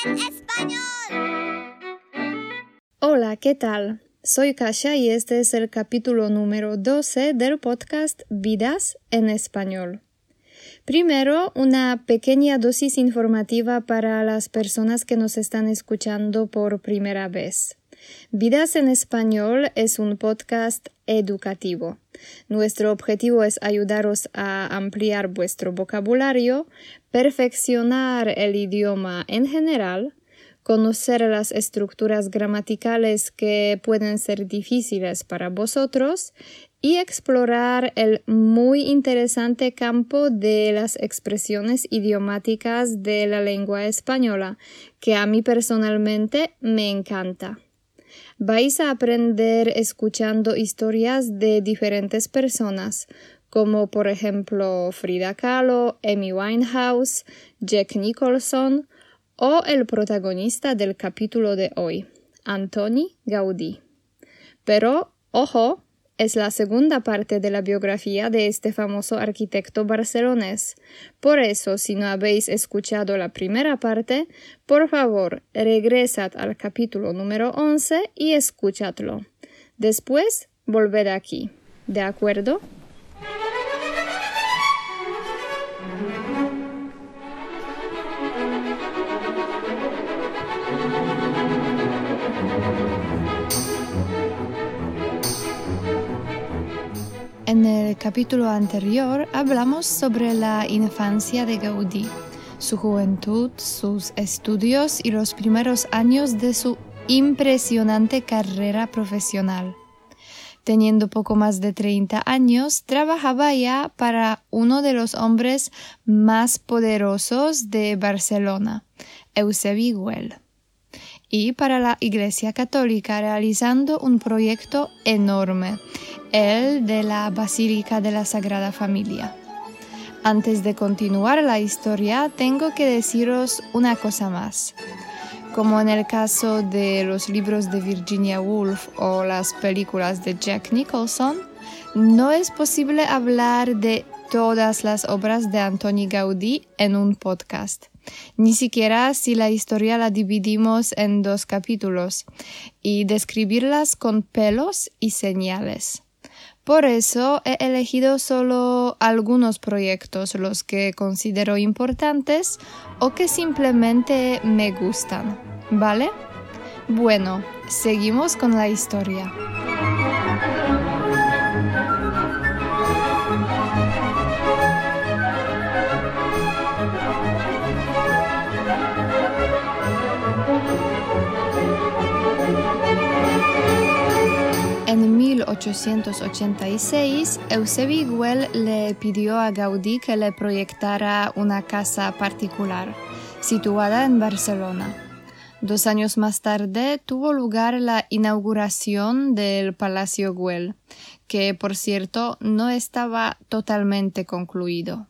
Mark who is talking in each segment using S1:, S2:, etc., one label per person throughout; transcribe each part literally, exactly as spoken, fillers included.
S1: español!
S2: Hola, ¿qué tal? Soy Kasia y este es el capítulo número doce del podcast Vidas en Español. Primero, una pequeña dosis informativa para las personas que nos están escuchando por primera vez. Vidas en Español es un podcast educativo. Nuestro objetivo es ayudaros a ampliar vuestro vocabulario, perfeccionar el idioma en general, conocer las estructuras gramaticales que pueden ser difíciles para vosotros y explorar el muy interesante campo de las expresiones idiomáticas de la lengua española, que a mí personalmente me encanta. Vais a aprender escuchando historias de diferentes personas, como por ejemplo Frida Kahlo, Amy Winehouse, Jack Nicholson o el protagonista del capítulo de hoy, Antoni Gaudí. Pero, ojo, es la segunda parte de la biografía de este famoso arquitecto barcelonés. Por eso, si no habéis escuchado la primera parte, por favor, regresad al capítulo número once y escuchadlo. Después, volved aquí. ¿De acuerdo? En el capítulo anterior hablamos sobre la infancia de Gaudí, su juventud, sus estudios y los primeros años de su impresionante carrera profesional. Teniendo poco más de treinta años, trabajaba ya para uno de los hombres más poderosos de Barcelona, Eusebi Güell, y para la Iglesia Católica realizando un proyecto enorme, el de la Basílica de la Sagrada Familia. Antes de continuar la historia, tengo que deciros una cosa más. Como en el caso de los libros de Virginia Woolf o las películas de Jack Nicholson, no es posible hablar de todas las obras de Antoni Gaudí en un podcast. Ni siquiera si la historia la dividimos en dos capítulos y describirlas con pelos y señales. Por eso he elegido solo algunos proyectos, los que considero importantes o que simplemente me gustan, ¿vale? Bueno, seguimos con la historia. En mil ochocientos ochenta y seis, Eusebi Güell le pidió a Gaudí que le proyectara una casa particular, situada en Barcelona. Dos años más tarde tuvo lugar la inauguración del Palacio Güell, que por cierto no estaba totalmente concluido.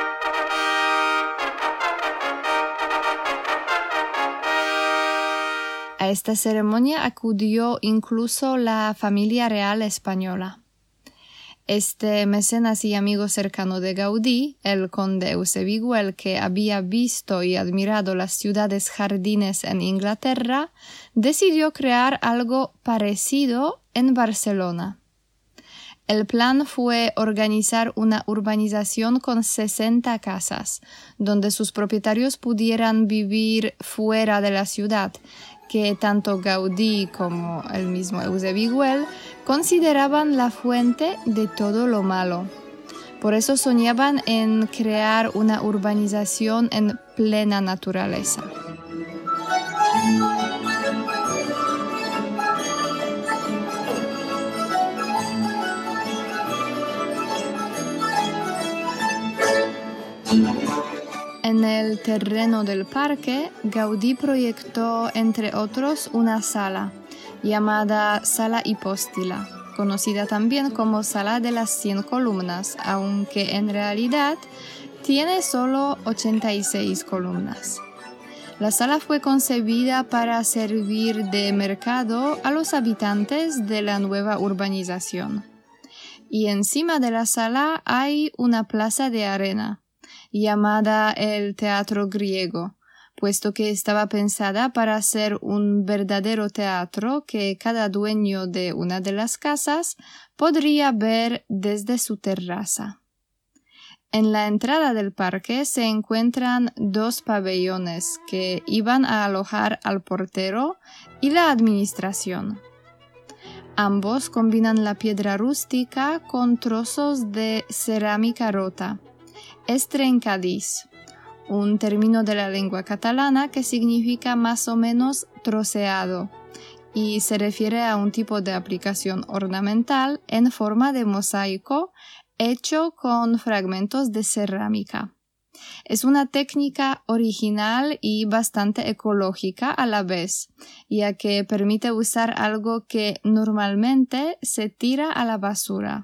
S2: A esta ceremonia acudió incluso la familia real española. Este mecenas y amigo cercano de Gaudí, el conde Eusebi Güell, que había visto y admirado las ciudades jardines en Inglaterra, decidió crear algo parecido en Barcelona. El plan fue organizar una urbanización con sesenta casas, donde sus propietarios pudieran vivir fuera de la ciudad, que tanto Gaudí como el mismo Eusebi Güell consideraban la fuente de todo lo malo. Por eso soñaban en crear una urbanización en plena naturaleza. En el terreno del parque, Gaudí proyectó, entre otros, una sala llamada Sala Hipóstila, conocida también como Sala de las Cien Columnas, aunque en realidad tiene solo ochenta y seis columnas. La sala fue concebida para servir de mercado a los habitantes de la nueva urbanización. Y encima de la sala hay una plaza de arena, llamada el Teatro Griego, puesto que estaba pensada para ser un verdadero teatro que cada dueño de una de las casas podría ver desde su terraza. En la entrada del parque se encuentran dos pabellones que iban a alojar al portero y la administración. Ambos combinan la piedra rústica con trozos de cerámica rota. Es trencadís, un término de la lengua catalana que significa más o menos troceado y se refiere a un tipo de aplicación ornamental en forma de mosaico hecho con fragmentos de cerámica. Es una técnica original y bastante ecológica a la vez, ya que permite usar algo que normalmente se tira a la basura.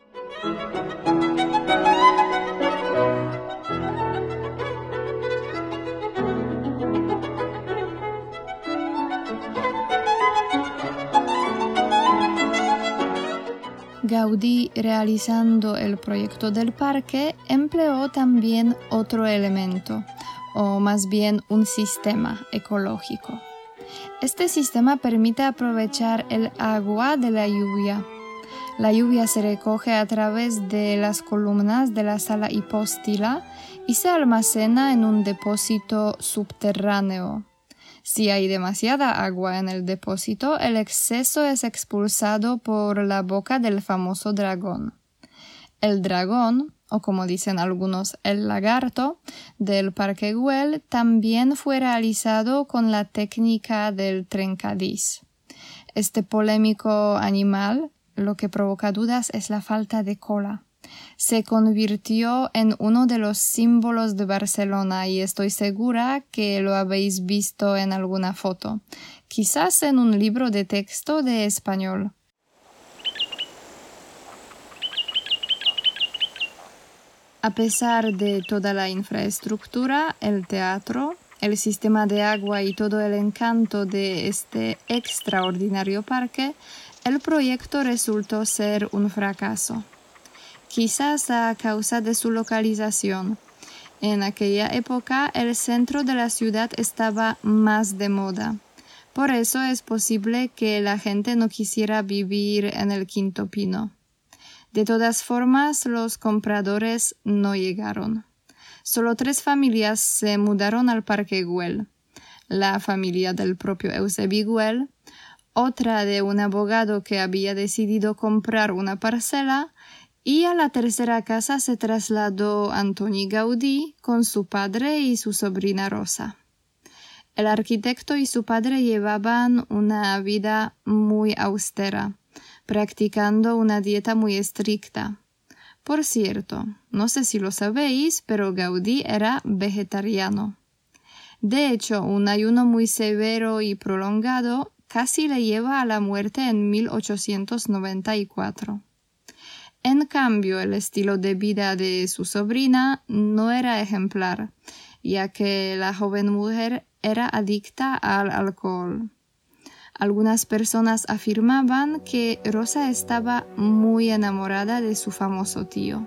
S2: Gaudí, realizando el proyecto del parque, empleó también otro elemento, o más bien un sistema ecológico. Este sistema permite aprovechar el agua de la lluvia. La lluvia se recoge a través de las columnas de la sala hipóstila y se almacena en un depósito subterráneo. Si hay demasiada agua en el depósito, el exceso es expulsado por la boca del famoso dragón. El dragón, o como dicen algunos, el lagarto, del Parque Güell también fue realizado con la técnica del trencadís. Este polémico animal, lo que provoca dudas es la falta de cola. Se convirtió en uno de los símbolos de Barcelona y estoy segura que lo habéis visto en alguna foto, quizás en un libro de texto de español. A pesar de toda la infraestructura, el teatro, el sistema de agua y todo el encanto de este extraordinario parque, el proyecto resultó ser un fracaso. Quizás a causa de su localización. En aquella época el centro de la ciudad estaba más de moda. Por eso es posible que la gente no quisiera vivir en el Quinto Pino. De todas formas, los compradores no llegaron. Solo tres familias se mudaron al Parque Güell. La familia del propio Eusebi Güell, otra de un abogado que había decidido comprar una parcela, y a la tercera casa se trasladó Antoni Gaudí con su padre y su sobrina Rosa. El arquitecto y su padre llevaban una vida muy austera, practicando una dieta muy estricta. Por cierto, no sé si lo sabéis, pero Gaudí era vegetariano. De hecho, un ayuno muy severo y prolongado casi le lleva a la muerte en mil ochocientos noventa y cuatro. En cambio, el estilo de vida de su sobrina no era ejemplar, ya que la joven mujer era adicta al alcohol. Algunas personas afirmaban que Rosa estaba muy enamorada de su famoso tío.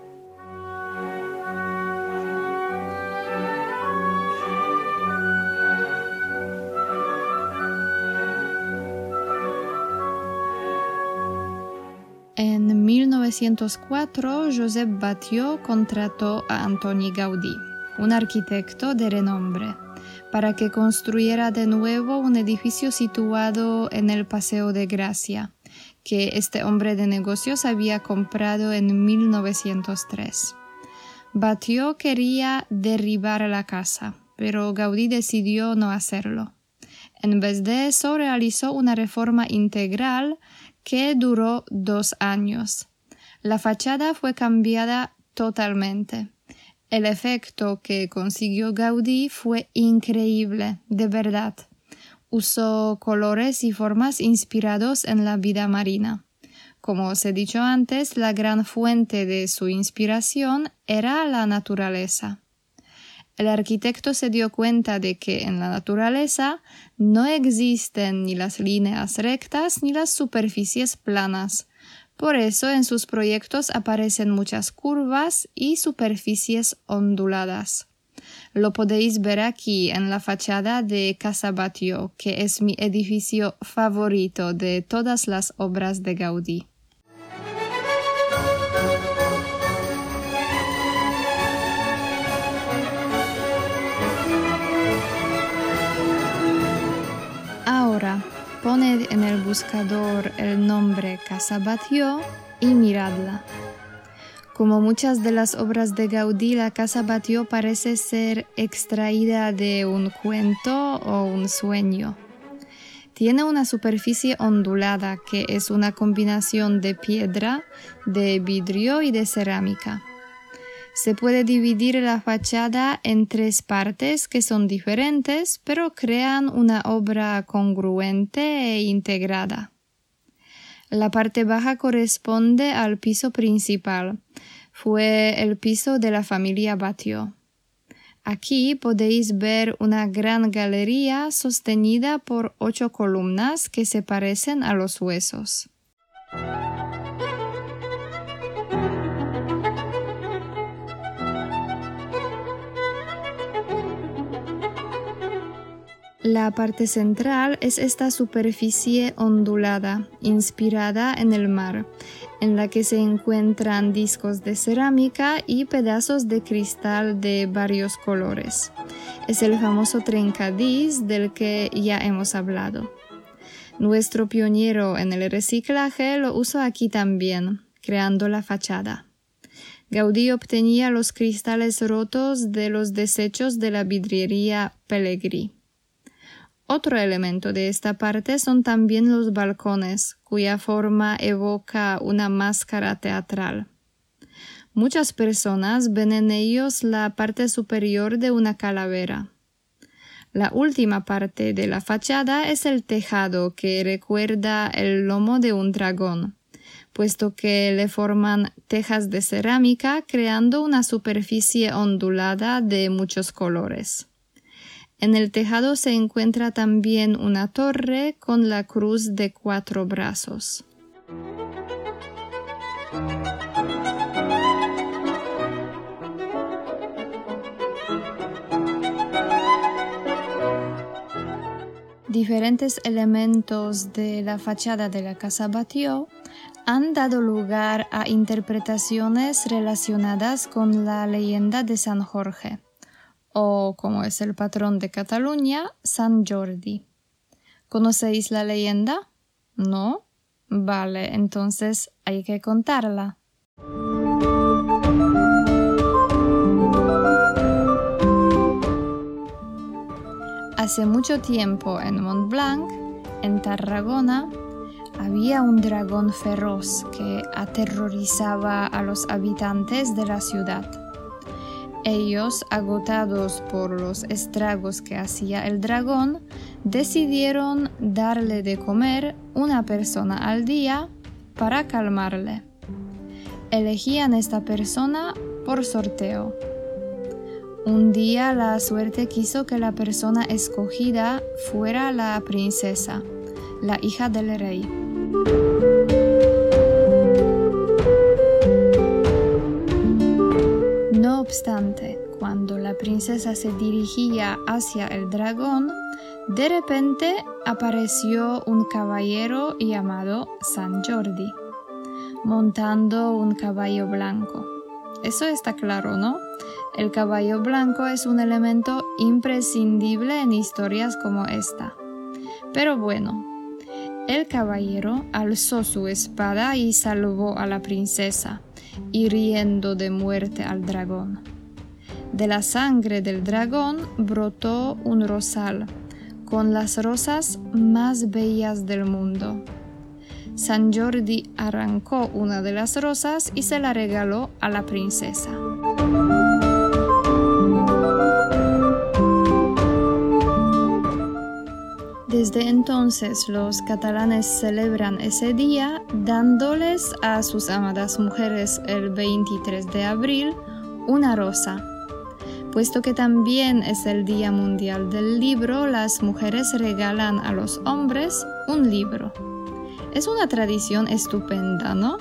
S2: En mil novecientos cuatro, Josep Batlló contrató a Antoni Gaudí, un arquitecto de renombre, para que construyera de nuevo un edificio situado en el Paseo de Gracia, que este hombre de negocios había comprado en mil novecientos tres. Batlló quería derribar la casa, pero Gaudí decidió no hacerlo. En vez de eso, realizó una reforma integral que duró dos años. La fachada fue cambiada totalmente. El efecto que consiguió Gaudí fue increíble, de verdad. Usó colores y formas inspirados en la vida marina. Como os he dicho antes, la gran fuente de su inspiración era la naturaleza. El arquitecto se dio cuenta de que en la naturaleza no existen ni las líneas rectas ni las superficies planas. Por eso en sus proyectos aparecen muchas curvas y superficies onduladas. Lo podéis ver aquí en la fachada de Casa Batlló, que es mi edificio favorito de todas las obras de Gaudí. Ahora, poned en el buscador el nombre Casa Batlló y miradla. Como muchas de las obras de Gaudí, la Casa Batlló parece ser extraída de un cuento o un sueño. Tiene una superficie ondulada que es una combinación de piedra, de vidrio y de cerámica. Se puede dividir la fachada en tres partes que son diferentes, pero crean una obra congruente e integrada. La parte baja corresponde al piso principal. Fue el piso de la familia Batlló. Aquí podéis ver una gran galería sostenida por ocho columnas que se parecen a los huesos. La parte central es esta superficie ondulada, inspirada en el mar, en la que se encuentran discos de cerámica y pedazos de cristal de varios colores. Es el famoso trencadís del que ya hemos hablado. Nuestro pionero en el reciclaje lo usó aquí también, creando la fachada. Gaudí obtenía los cristales rotos de los desechos de la vidriería Pellegrí. Otro elemento de esta parte son también los balcones, cuya forma evoca una máscara teatral. Muchas personas ven en ellos la parte superior de una calavera. La última parte de la fachada es el tejado, que recuerda el lomo de un dragón, puesto que le forman tejas de cerámica creando una superficie ondulada de muchos colores. En el tejado se encuentra también una torre con la cruz de cuatro brazos. Diferentes elementos de la fachada de la Casa Batlló han dado lugar a interpretaciones relacionadas con la leyenda de San Jorge, o, como es el patrón de Cataluña, San Jordi. ¿Conocéis la leyenda? ¿No? Vale, entonces hay que contarla. Hace mucho tiempo en Montblanc, en Tarragona, había un dragón feroz que aterrorizaba a los habitantes de la ciudad. Ellos, agotados por los estragos que hacía el dragón, decidieron darle de comer una persona al día para calmarle. Elegían esta persona por sorteo. Un día la suerte quiso que la persona escogida fuera la princesa, la hija del rey. No obstante, cuando la princesa se dirigía hacia el dragón, de repente apareció un caballero llamado San Jordi, montando un caballo blanco. Eso está claro, ¿no? El caballo blanco es un elemento imprescindible en historias como esta. Pero bueno, el caballero alzó su espada y salvó a la princesa, hiriendo de muerte al dragón. De la sangre del dragón brotó un rosal, con las rosas más bellas del mundo. San Jordi arrancó una de las rosas y se la regaló a la princesa. Desde entonces los catalanes celebran ese día dándoles a sus amadas mujeres el veintitrés de abril una rosa. Puesto que también es el Día Mundial del Libro, las mujeres regalan a los hombres un libro. Es una tradición estupenda, ¿no?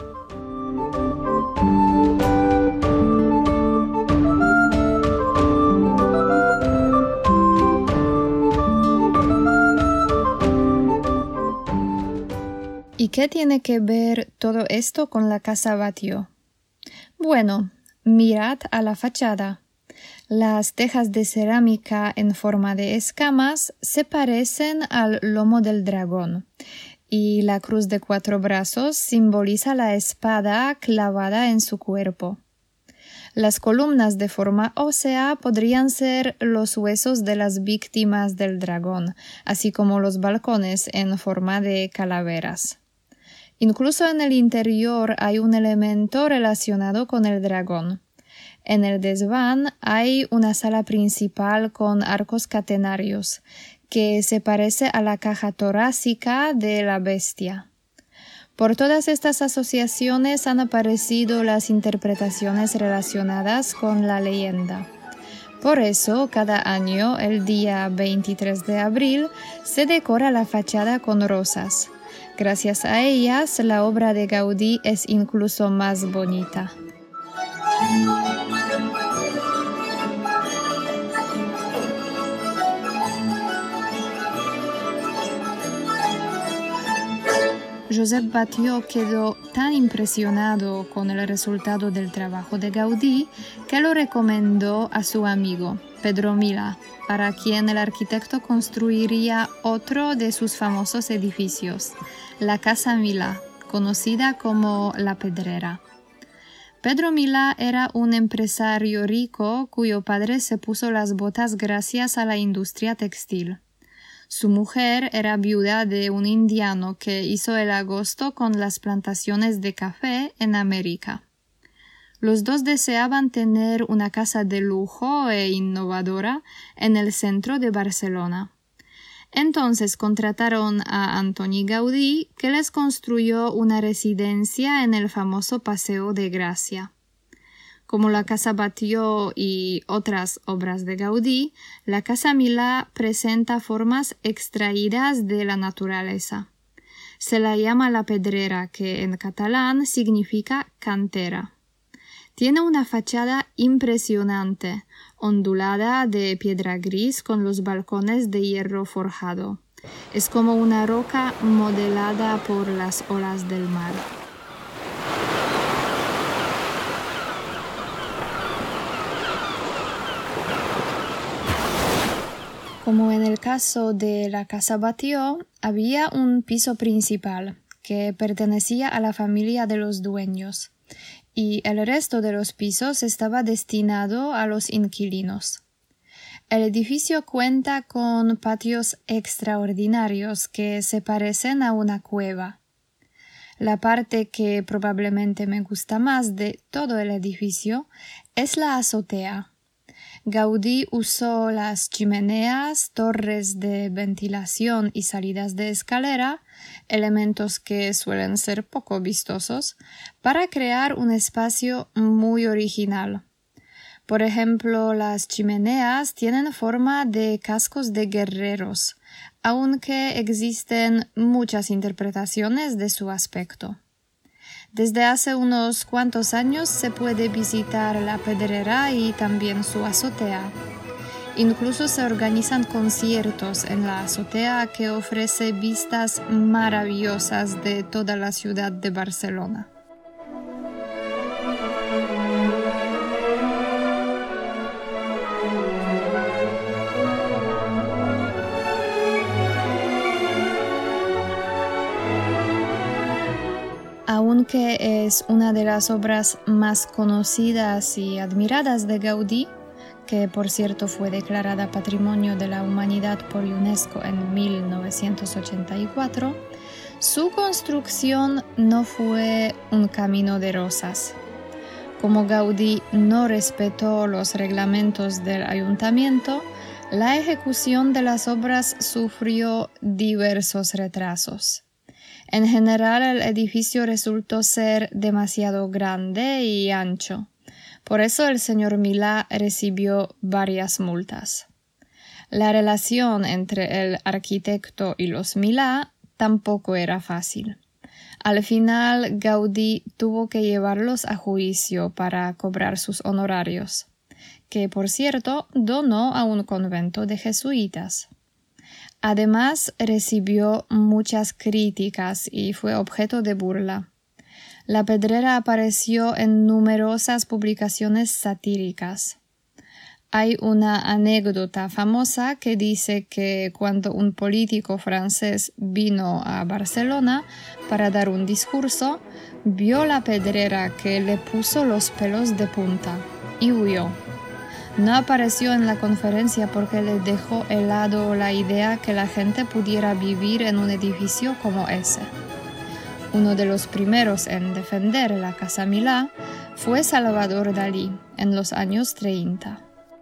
S2: ¿Y qué tiene que ver todo esto con la casa Batlló? Bueno, mirad a la fachada. Las tejas de cerámica en forma de escamas se parecen al lomo del dragón, y la cruz de cuatro brazos simboliza la espada clavada en su cuerpo. Las columnas de forma ósea podrían ser los huesos de las víctimas del dragón, así como los balcones en forma de calaveras. Incluso en el interior hay un elemento relacionado con el dragón. En el desván hay una sala principal con arcos catenarios, que se parece a la caja torácica de la bestia. Por todas estas asociaciones han aparecido las interpretaciones relacionadas con la leyenda. Por eso, cada año, el día veintitrés de abril, se decora la fachada con rosas. Gracias a ellas, la obra de Gaudí es incluso más bonita. Josep Batlló quedó tan impresionado con el resultado del trabajo de Gaudí que lo recomendó a su amigo, Pedro Milá, para quien el arquitecto construiría otro de sus famosos edificios, la Casa Milá, conocida como La Pedrera. Pedro Milá era un empresario rico cuyo padre se puso las botas gracias a la industria textil. Su mujer era viuda de un indiano que hizo el agosto con las plantaciones de café en América. Los dos deseaban tener una casa de lujo e innovadora en el centro de Barcelona. Entonces contrataron a Antoni Gaudí, que les construyó una residencia en el famoso Paseo de Gracia. Como la Casa Batlló y otras obras de Gaudí, la Casa Milá presenta formas extraídas de la naturaleza. Se la llama La Pedrera, que en catalán significa cantera. Tiene una fachada impresionante, ondulada de piedra gris con los balcones de hierro forjado. Es como una roca modelada por las olas del mar. Como en el caso de la Casa Batlló, había un piso principal que pertenecía a la familia de los dueños, y el resto de los pisos estaba destinado a los inquilinos. El edificio cuenta con patios extraordinarios que se parecen a una cueva. La parte que probablemente me gusta más de todo el edificio es la azotea. Gaudí usó las chimeneas, torres de ventilación y salidas de escalera, elementos que suelen ser poco vistosos, para crear un espacio muy original. Por ejemplo, las chimeneas tienen forma de cascos de guerreros, aunque existen muchas interpretaciones de su aspecto. Desde hace unos cuantos años se puede visitar la Pedrera y también su azotea. Incluso se organizan conciertos en la azotea que ofrece vistas maravillosas de toda la ciudad de Barcelona. Aunque es una de las obras más conocidas y admiradas de Gaudí, que por cierto fue declarada Patrimonio de la Humanidad por UNESCO en mil novecientos ochenta y cuatro, su construcción no fue un camino de rosas. Como Gaudí no respetó los reglamentos del ayuntamiento, la ejecución de las obras sufrió diversos retrasos. En general, el edificio resultó ser demasiado grande y ancho. Por eso el señor Milá recibió varias multas. La relación entre el arquitecto y los Milá tampoco era fácil. Al final, Gaudí tuvo que llevarlos a juicio para cobrar sus honorarios, que por cierto donó a un convento de jesuitas. Además, recibió muchas críticas y fue objeto de burla. La Pedrera apareció en numerosas publicaciones satíricas. Hay una anécdota famosa que dice que cuando un político francés vino a Barcelona para dar un discurso, vio la Pedrera que le puso los pelos de punta y huyó. No apareció en la conferencia porque le dejó helado la idea que la gente pudiera vivir en un edificio como ese. Uno de los primeros en defender la Casa Milá fue Salvador Dalí en los años treinta.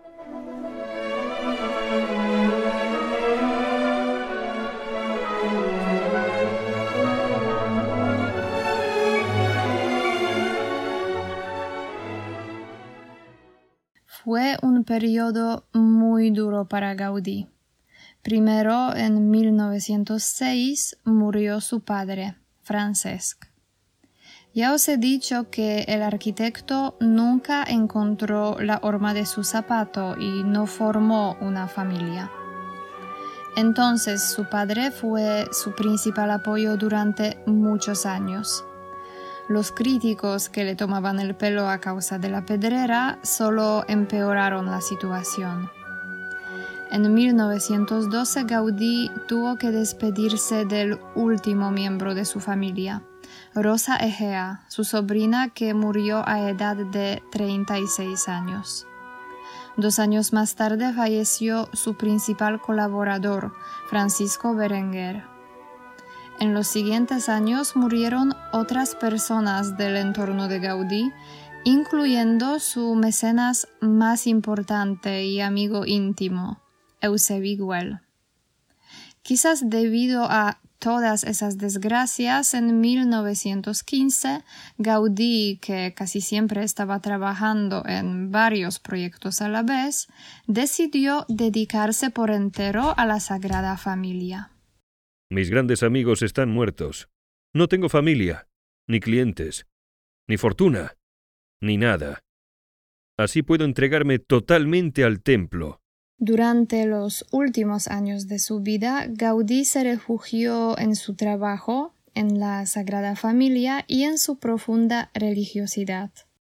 S2: Fue un periodo muy duro para Gaudí. Primero, en mil novecientos seis, murió su padre, Francesc. Ya os he dicho que el arquitecto nunca encontró la horma de su zapato y no formó una familia. Entonces su padre fue su principal apoyo durante muchos años. Los críticos que le tomaban el pelo a causa de la Pedrera solo empeoraron la situación. En mil novecientos doce Gaudí tuvo que despedirse del último miembro de su familia, Rosa Egea, su sobrina que murió a edad de treinta y seis años. Dos años más tarde falleció su principal colaborador, Francisco Berenguer. En los siguientes años murieron otras personas del entorno de Gaudí, incluyendo su mecenas más importante y amigo íntimo, Eusebi Güell. Quizás debido a todas esas desgracias, en mil novecientos quince, Gaudí, que casi siempre estaba trabajando en varios proyectos a la vez, decidió dedicarse por entero a la Sagrada Familia.
S1: Mis grandes amigos están muertos. No tengo familia, ni clientes, ni fortuna, ni nada. Así puedo entregarme totalmente al templo.
S2: Durante los últimos años de su vida, Gaudí se refugió en su trabajo, en la Sagrada Familia y en su profunda religiosidad.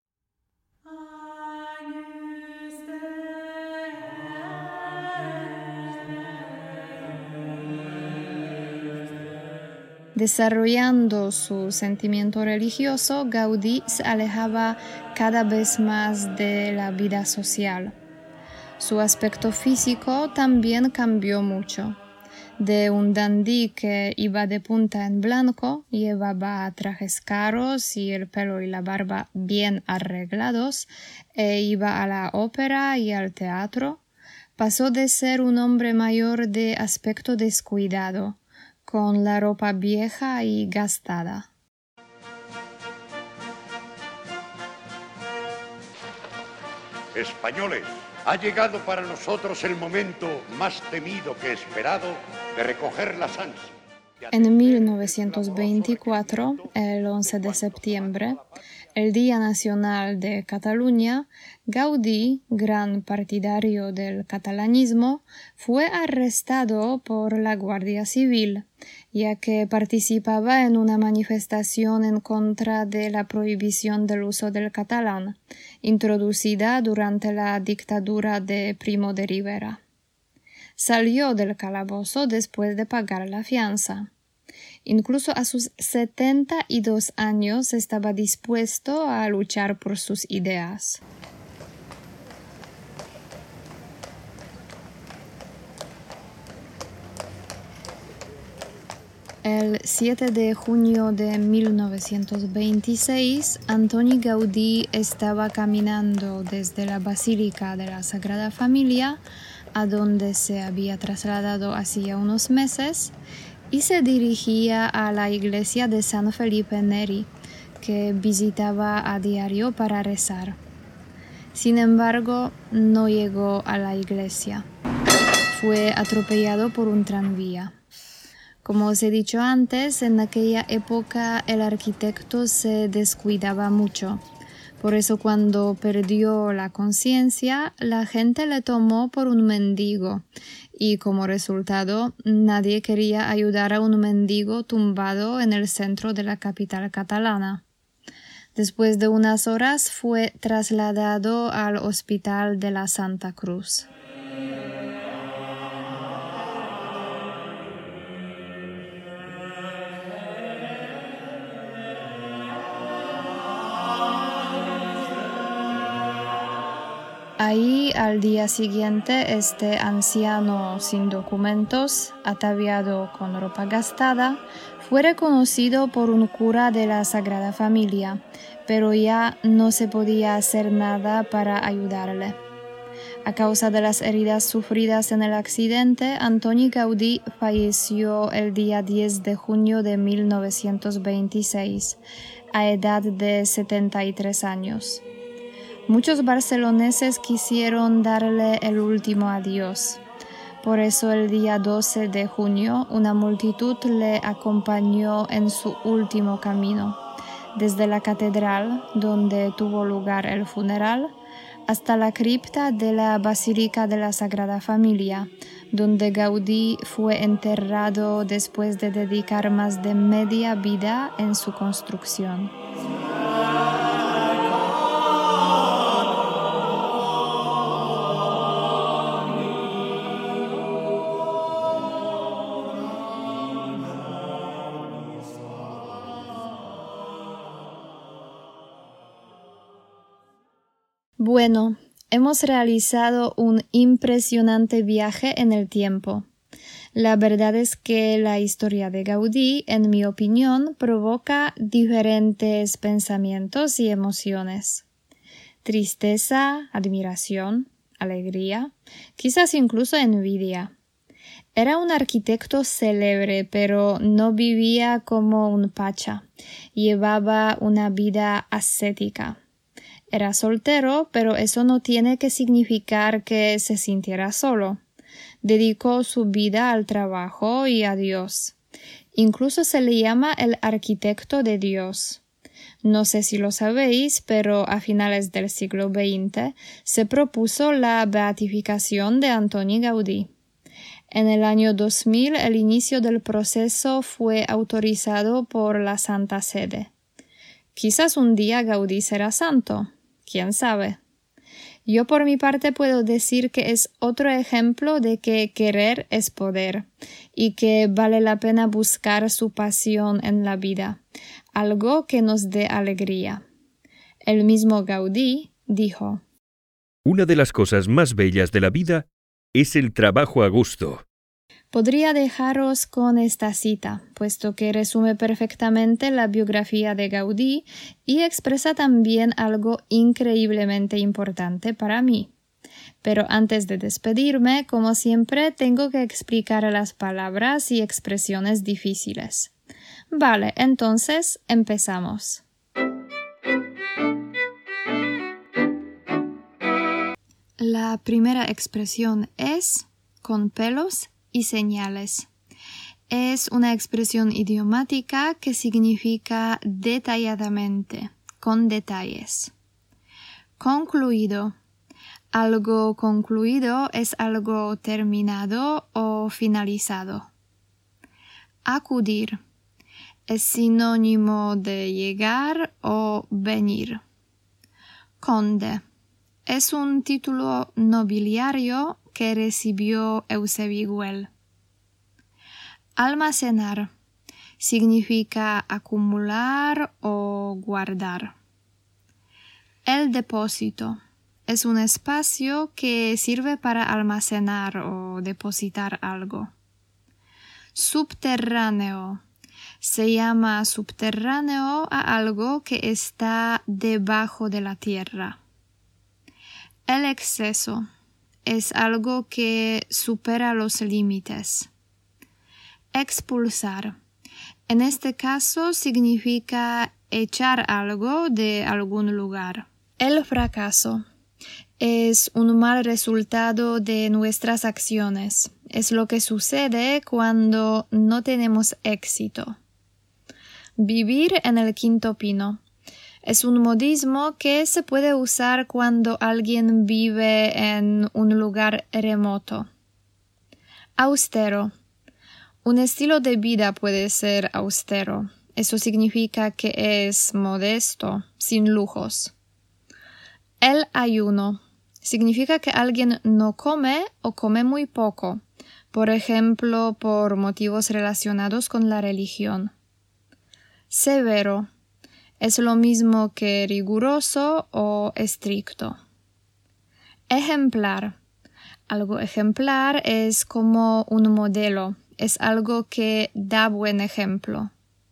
S2: Desarrollando su sentimiento religioso, Gaudí se alejaba cada vez más de la vida social. Su aspecto físico también cambió mucho. De un dandí que iba de punta en blanco, llevaba trajes caros y el pelo y la barba bien arreglados, e iba a la ópera y al teatro, pasó de ser un hombre mayor de aspecto descuidado, con la ropa vieja y gastada.
S3: Españoles, ha llegado para nosotros el momento más temido que esperado de recoger las ansias.
S2: En mil novecientos veinticuatro, el once de septiembre, el Día Nacional de Cataluña, Gaudí, gran partidario del catalanismo, fue arrestado por la Guardia Civil, ya que participaba en una manifestación en contra de la prohibición del uso del catalán, introducida durante la dictadura de Primo de Rivera. Salió del calabozo después de pagar la fianza. Incluso a sus setenta y dos años estaba dispuesto a luchar por sus ideas. El siete de junio de mil novecientos veintiséis, Antoni Gaudí estaba caminando desde la Basílica de la Sagrada Familia, a donde se había trasladado hacía unos meses, y se dirigía a la iglesia de San Felipe Neri, que visitaba a diario para rezar. Sin embargo, no llegó a la iglesia. Fue atropellado por un tranvía. Como os he dicho antes, en aquella época el arquitecto se descuidaba mucho. Por eso cuando perdió la conciencia, la gente le tomó por un mendigo y como resultado nadie quería ayudar a un mendigo tumbado en el centro de la capital catalana. Después de unas horas fue trasladado al Hospital de la Santa Cruz. Ahí, al día siguiente, este anciano sin documentos, ataviado con ropa gastada, fue reconocido por un cura de la Sagrada Familia, pero ya no se podía hacer nada para ayudarle. A causa de las heridas sufridas en el accidente, Antoni Gaudí falleció el día diez de junio de mil novecientos veintiséis, a edad de setenta y tres años. Muchos barceloneses quisieron darle el último adiós. Por eso el día doce de junio una multitud le acompañó en su último camino, desde la catedral, donde tuvo lugar el funeral, hasta la cripta de la Basílica de la Sagrada Familia, donde Gaudí fue enterrado después de dedicar más de media vida en su construcción. Bueno, hemos realizado un impresionante viaje en el tiempo. La verdad es que la historia de Gaudí, en mi opinión, provoca diferentes pensamientos y emociones. Tristeza, admiración, alegría, quizás incluso envidia. Era un arquitecto célebre, pero no vivía como un pacha. Llevaba una vida ascética. Era soltero, pero eso no tiene que significar que se sintiera solo. Dedicó su vida al trabajo y a Dios. Incluso se le llama el arquitecto de Dios. No sé si lo sabéis, pero a finales del siglo veinte se propuso la beatificación de Antoni Gaudí. En el año dos mil el inicio del proceso fue autorizado por la Santa Sede. Quizás un día Gaudí será santo. ¿Quién sabe? Yo por mi parte puedo decir que es otro ejemplo de que querer es poder y que vale la pena buscar su pasión en la vida, algo que nos dé alegría. El mismo Gaudí dijo:
S1: Una de las cosas más bellas de la vida es el trabajo a gusto.
S2: Podría dejaros con esta cita, puesto que resume perfectamente la biografía de Gaudí y expresa también algo increíblemente importante para mí. Pero antes de despedirme, como siempre, tengo que explicar las palabras y expresiones difíciles. Vale, entonces empezamos. La primera expresión es con pelos y señales. Es una expresión idiomática que significa detalladamente, con detalles. Concluido. Algo concluido es algo terminado o finalizado. Acudir. Es sinónimo de llegar o venir. Conde. Es un título nobiliario que recibió Eusebio Güell. Almacenar significa acumular o guardar. El depósito es un espacio que sirve para almacenar o depositar algo. Subterráneo se llama subterráneo a algo que está debajo de la tierra. El exceso es algo que supera los límites. Expulsar. En este caso significa echar algo de algún lugar. El fracaso es un mal resultado de nuestras acciones. Es lo que sucede cuando no tenemos éxito. Vivir en el quinto pino. Es un modismo que se puede usar cuando alguien vive en un lugar remoto. Austero. Un estilo de vida puede ser austero. Eso significa que es modesto, sin lujos. El ayuno. Significa que alguien no come o come muy poco, por ejemplo, por motivos relacionados con la religión. Severo. Es lo mismo que riguroso o estricto. Ejemplar. Algo ejemplar es como un modelo, es algo que da buen ejemplo.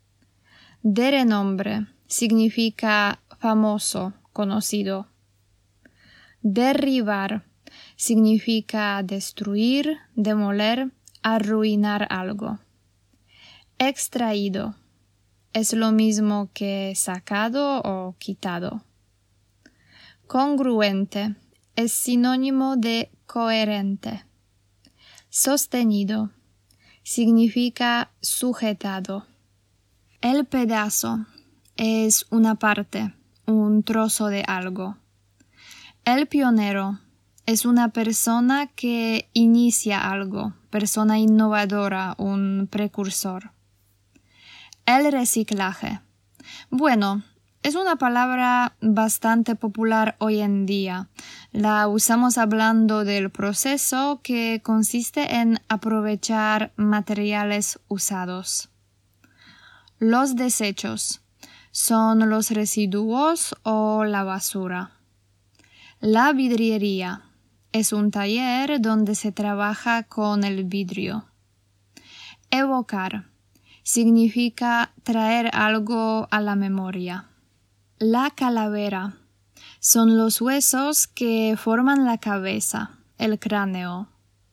S2: De renombre significa famoso, conocido. Derribar significa destruir, demoler, arruinar algo. Extraído es lo mismo que sacado o quitado. Congruente es sinónimo de coherente. Sostenido significa sujetado. El pedazo es una parte, un trozo de algo. El pionero es una persona que inicia algo, persona innovadora, un precursor. El reciclaje. Bueno, es una palabra bastante popular hoy en día. La usamos hablando del proceso que consiste en aprovechar materiales usados. Los desechos son los residuos o la basura. La vidriería es un taller donde se trabaja con el vidrio. Evocar significa traer algo a la memoria. La calavera son los huesos que forman la cabeza, el cráneo.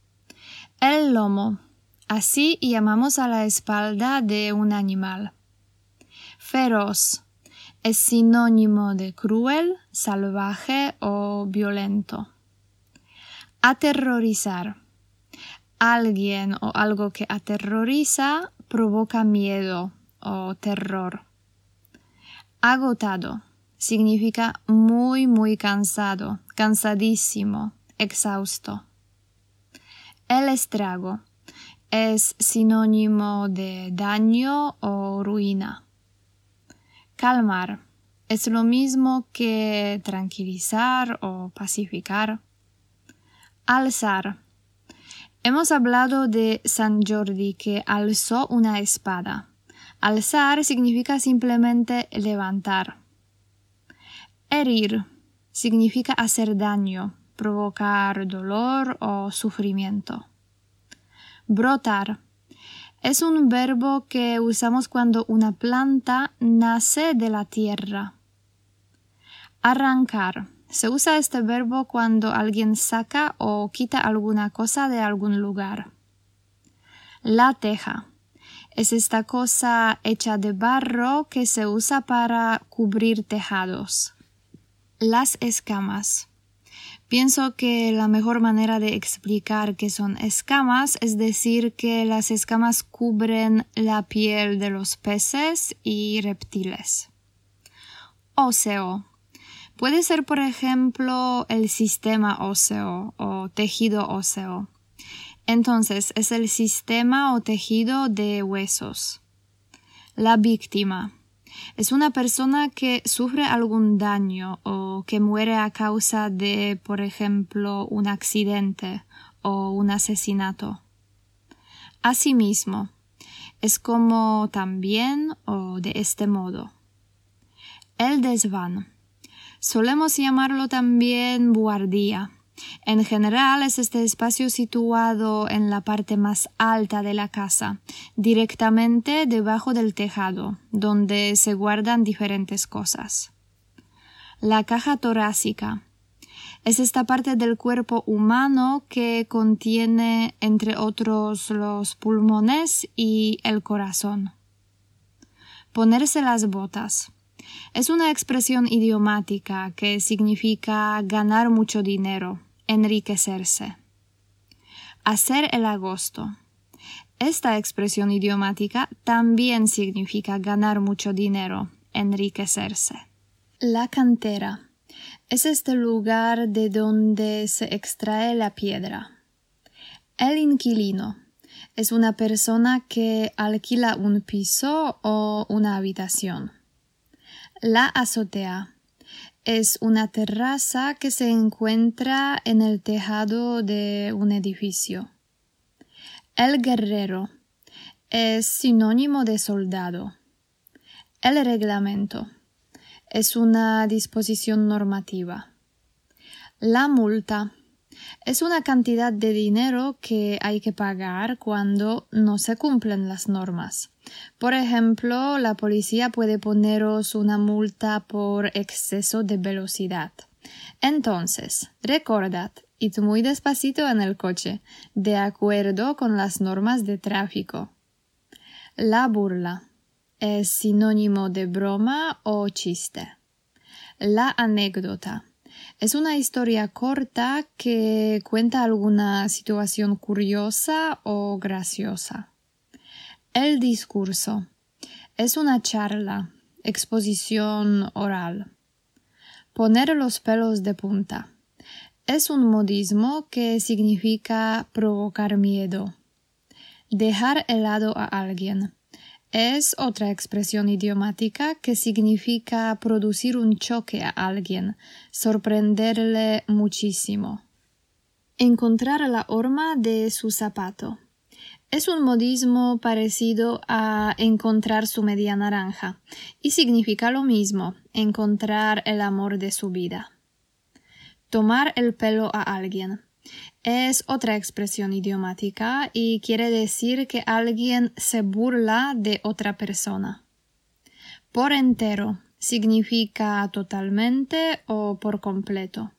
S2: El lomo, así llamamos a la espalda de un animal. Feroz es sinónimo de cruel, salvaje o violento. Aterrorizar. Alguien o algo que aterroriza provoca miedo o terror. Agotado significa muy, muy cansado, cansadísimo, exhausto. El estrago es sinónimo de daño o ruina. Calmar es lo mismo que tranquilizar o pacificar. Alzar. Hemos hablado de San Jordi que alzó una espada. Alzar significa simplemente levantar. Herir significa hacer daño, provocar dolor o sufrimiento. Brotar es un verbo que usamos cuando una planta nace de la tierra. Arrancar. Se usa este verbo cuando alguien saca o quita alguna cosa de algún lugar. La teja. Es esta cosa hecha de barro que se usa para cubrir tejados. Las escamas. Pienso que la mejor manera de explicar qué son escamas es decir que las escamas cubren la piel de los peces y reptiles. Óseo. Puede ser, por ejemplo, el sistema óseo o tejido óseo. Entonces, es el sistema o tejido de huesos. La víctima. Es una persona que sufre algún daño o que muere a causa de, por ejemplo, un accidente o un asesinato. Asimismo, es como también o de este modo. El desván. Solemos llamarlo también buhardía. En general es este espacio situado en la parte más alta de la casa, directamente debajo del tejado, donde se guardan diferentes cosas. La caja torácica es esta parte del cuerpo humano que contiene, entre otros, los pulmones y el corazón. Ponerse las botas. Es una expresión idiomática que significa ganar mucho dinero, enriquecerse. Hacer el agosto. Esta expresión idiomática también significa ganar mucho dinero, enriquecerse. La cantera es este lugar de donde se extrae la piedra. El inquilino es una persona que alquila un piso o una habitación. La azotea es una terraza que se encuentra en el tejado de un edificio. El guerrero es sinónimo de soldado. El reglamento es una disposición normativa. La multa es una cantidad de dinero que hay que pagar cuando no se cumplen las normas. Por ejemplo, la policía puede poneros una multa por exceso de velocidad. Entonces, recordad, id muy despacito en el coche, de acuerdo con las normas de tráfico. La burla es sinónimo de broma o chiste. La anécdota es una historia corta que cuenta alguna situación curiosa o graciosa. El discurso es una charla, exposición oral. Poner los pelos de punta es un modismo que significa provocar miedo. Dejar helado a alguien es otra expresión idiomática que significa producir un choque a alguien, sorprenderle muchísimo. Encontrar la horma de su zapato es un modismo parecido a encontrar su media naranja y significa lo mismo, encontrar el amor de su vida. Tomar el pelo a alguien es otra expresión idiomática y quiere decir que alguien se burla de otra persona. Por entero significa totalmente o por completo.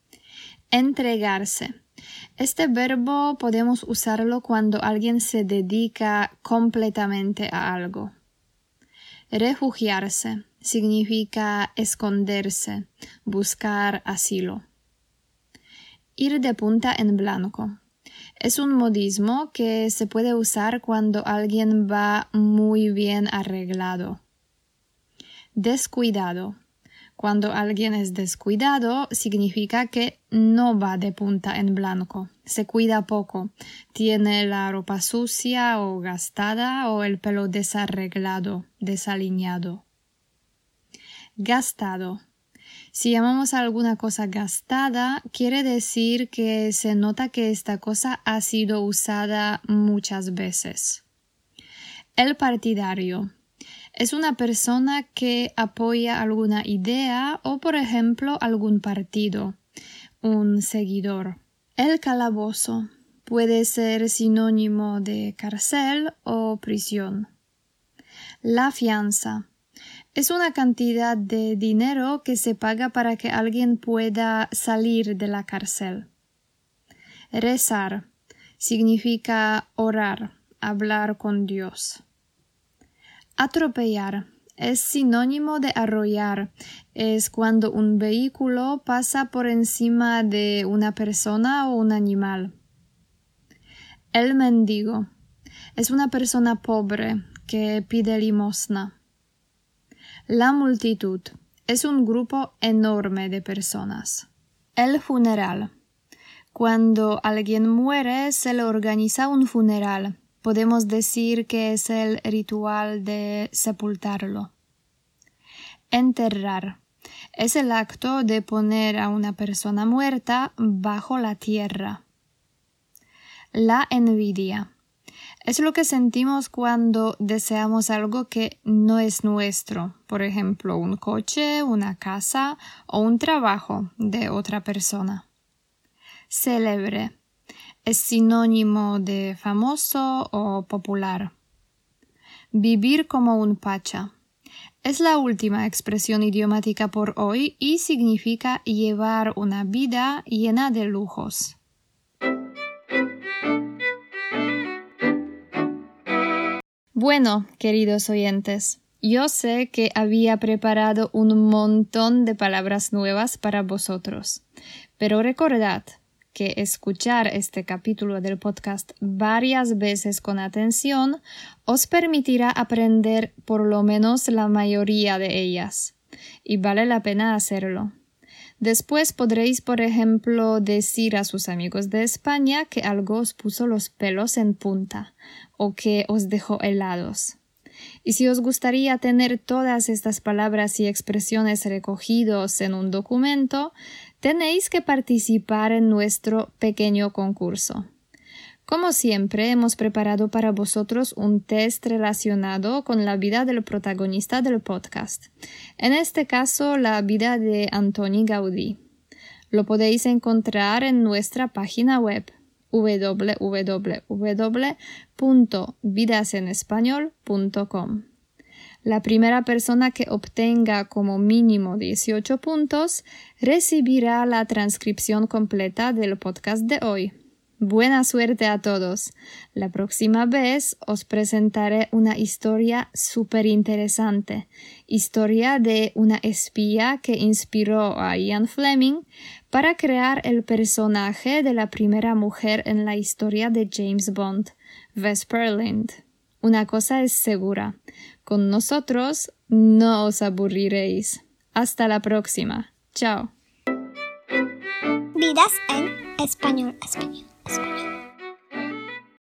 S2: Entregarse. Este verbo podemos usarlo cuando alguien se dedica completamente a algo. Refugiarse significa esconderse, buscar asilo. Ir de punta en blanco. Es un modismo que se puede usar cuando alguien va muy bien arreglado. Descuidado. Cuando alguien es descuidado, significa que no va de punta en blanco, se cuida poco, tiene la ropa sucia o gastada o el pelo desarreglado, desaliñado. Gastado. Si llamamos a alguna cosa gastada, quiere decir que se nota que esta cosa ha sido usada muchas veces. El partidario es una persona que apoya alguna idea o, por ejemplo, algún partido, un seguidor. El calabozo puede ser sinónimo de cárcel o prisión. La fianza es una cantidad de dinero que se paga para que alguien pueda salir de la cárcel. Rezar significa orar, hablar con Dios. Atropellar es sinónimo de arrollar. Es cuando un vehículo pasa por encima de una persona o un animal. El mendigo es una persona pobre que pide limosna. La multitud es un grupo enorme de personas. El funeral. Cuando alguien muere, se le organiza un funeral. Podemos decir que es el ritual de sepultarlo. Enterrar. Es el acto de poner a una persona muerta bajo la tierra. La envidia. Es lo que sentimos cuando deseamos algo que no es nuestro, por ejemplo, un coche, una casa o un trabajo de otra persona. Célebre es sinónimo de famoso o popular. Vivir como un pacha es la última expresión idiomática por hoy y significa llevar una vida llena de lujos. Bueno, queridos oyentes, yo sé que había preparado un montón de palabras nuevas para vosotros, pero recordad que escuchar este capítulo del podcast varias veces con atención os permitirá aprender por lo menos la mayoría de ellas. y vale la pena hacerlo. Después podréis, por ejemplo, decir a sus amigos de España que algo os puso los pelos en punta o que os dejó helados. Y si os gustaría tener todas estas palabras y expresiones recogidos en un documento, tenéis que participar en nuestro pequeño concurso. Como siempre, hemos preparado para vosotros un test relacionado con la vida del protagonista del podcast. En este caso, la vida de Antoni Gaudí. Lo podéis encontrar en nuestra página web w w w punto vidas en español punto com. La primera persona que obtenga como mínimo dieciocho puntos recibirá la transcripción completa del podcast de hoy. Buena suerte a todos. La próxima vez os presentaré una historia súper interesante. Historia de una espía que inspiró a Ian Fleming para crear el personaje de la primera mujer en la historia de James Bond, Vesper Lynd. Una cosa es segura. Con nosotros no os aburriréis. Hasta la próxima. Chao.
S4: Vidas en español, español.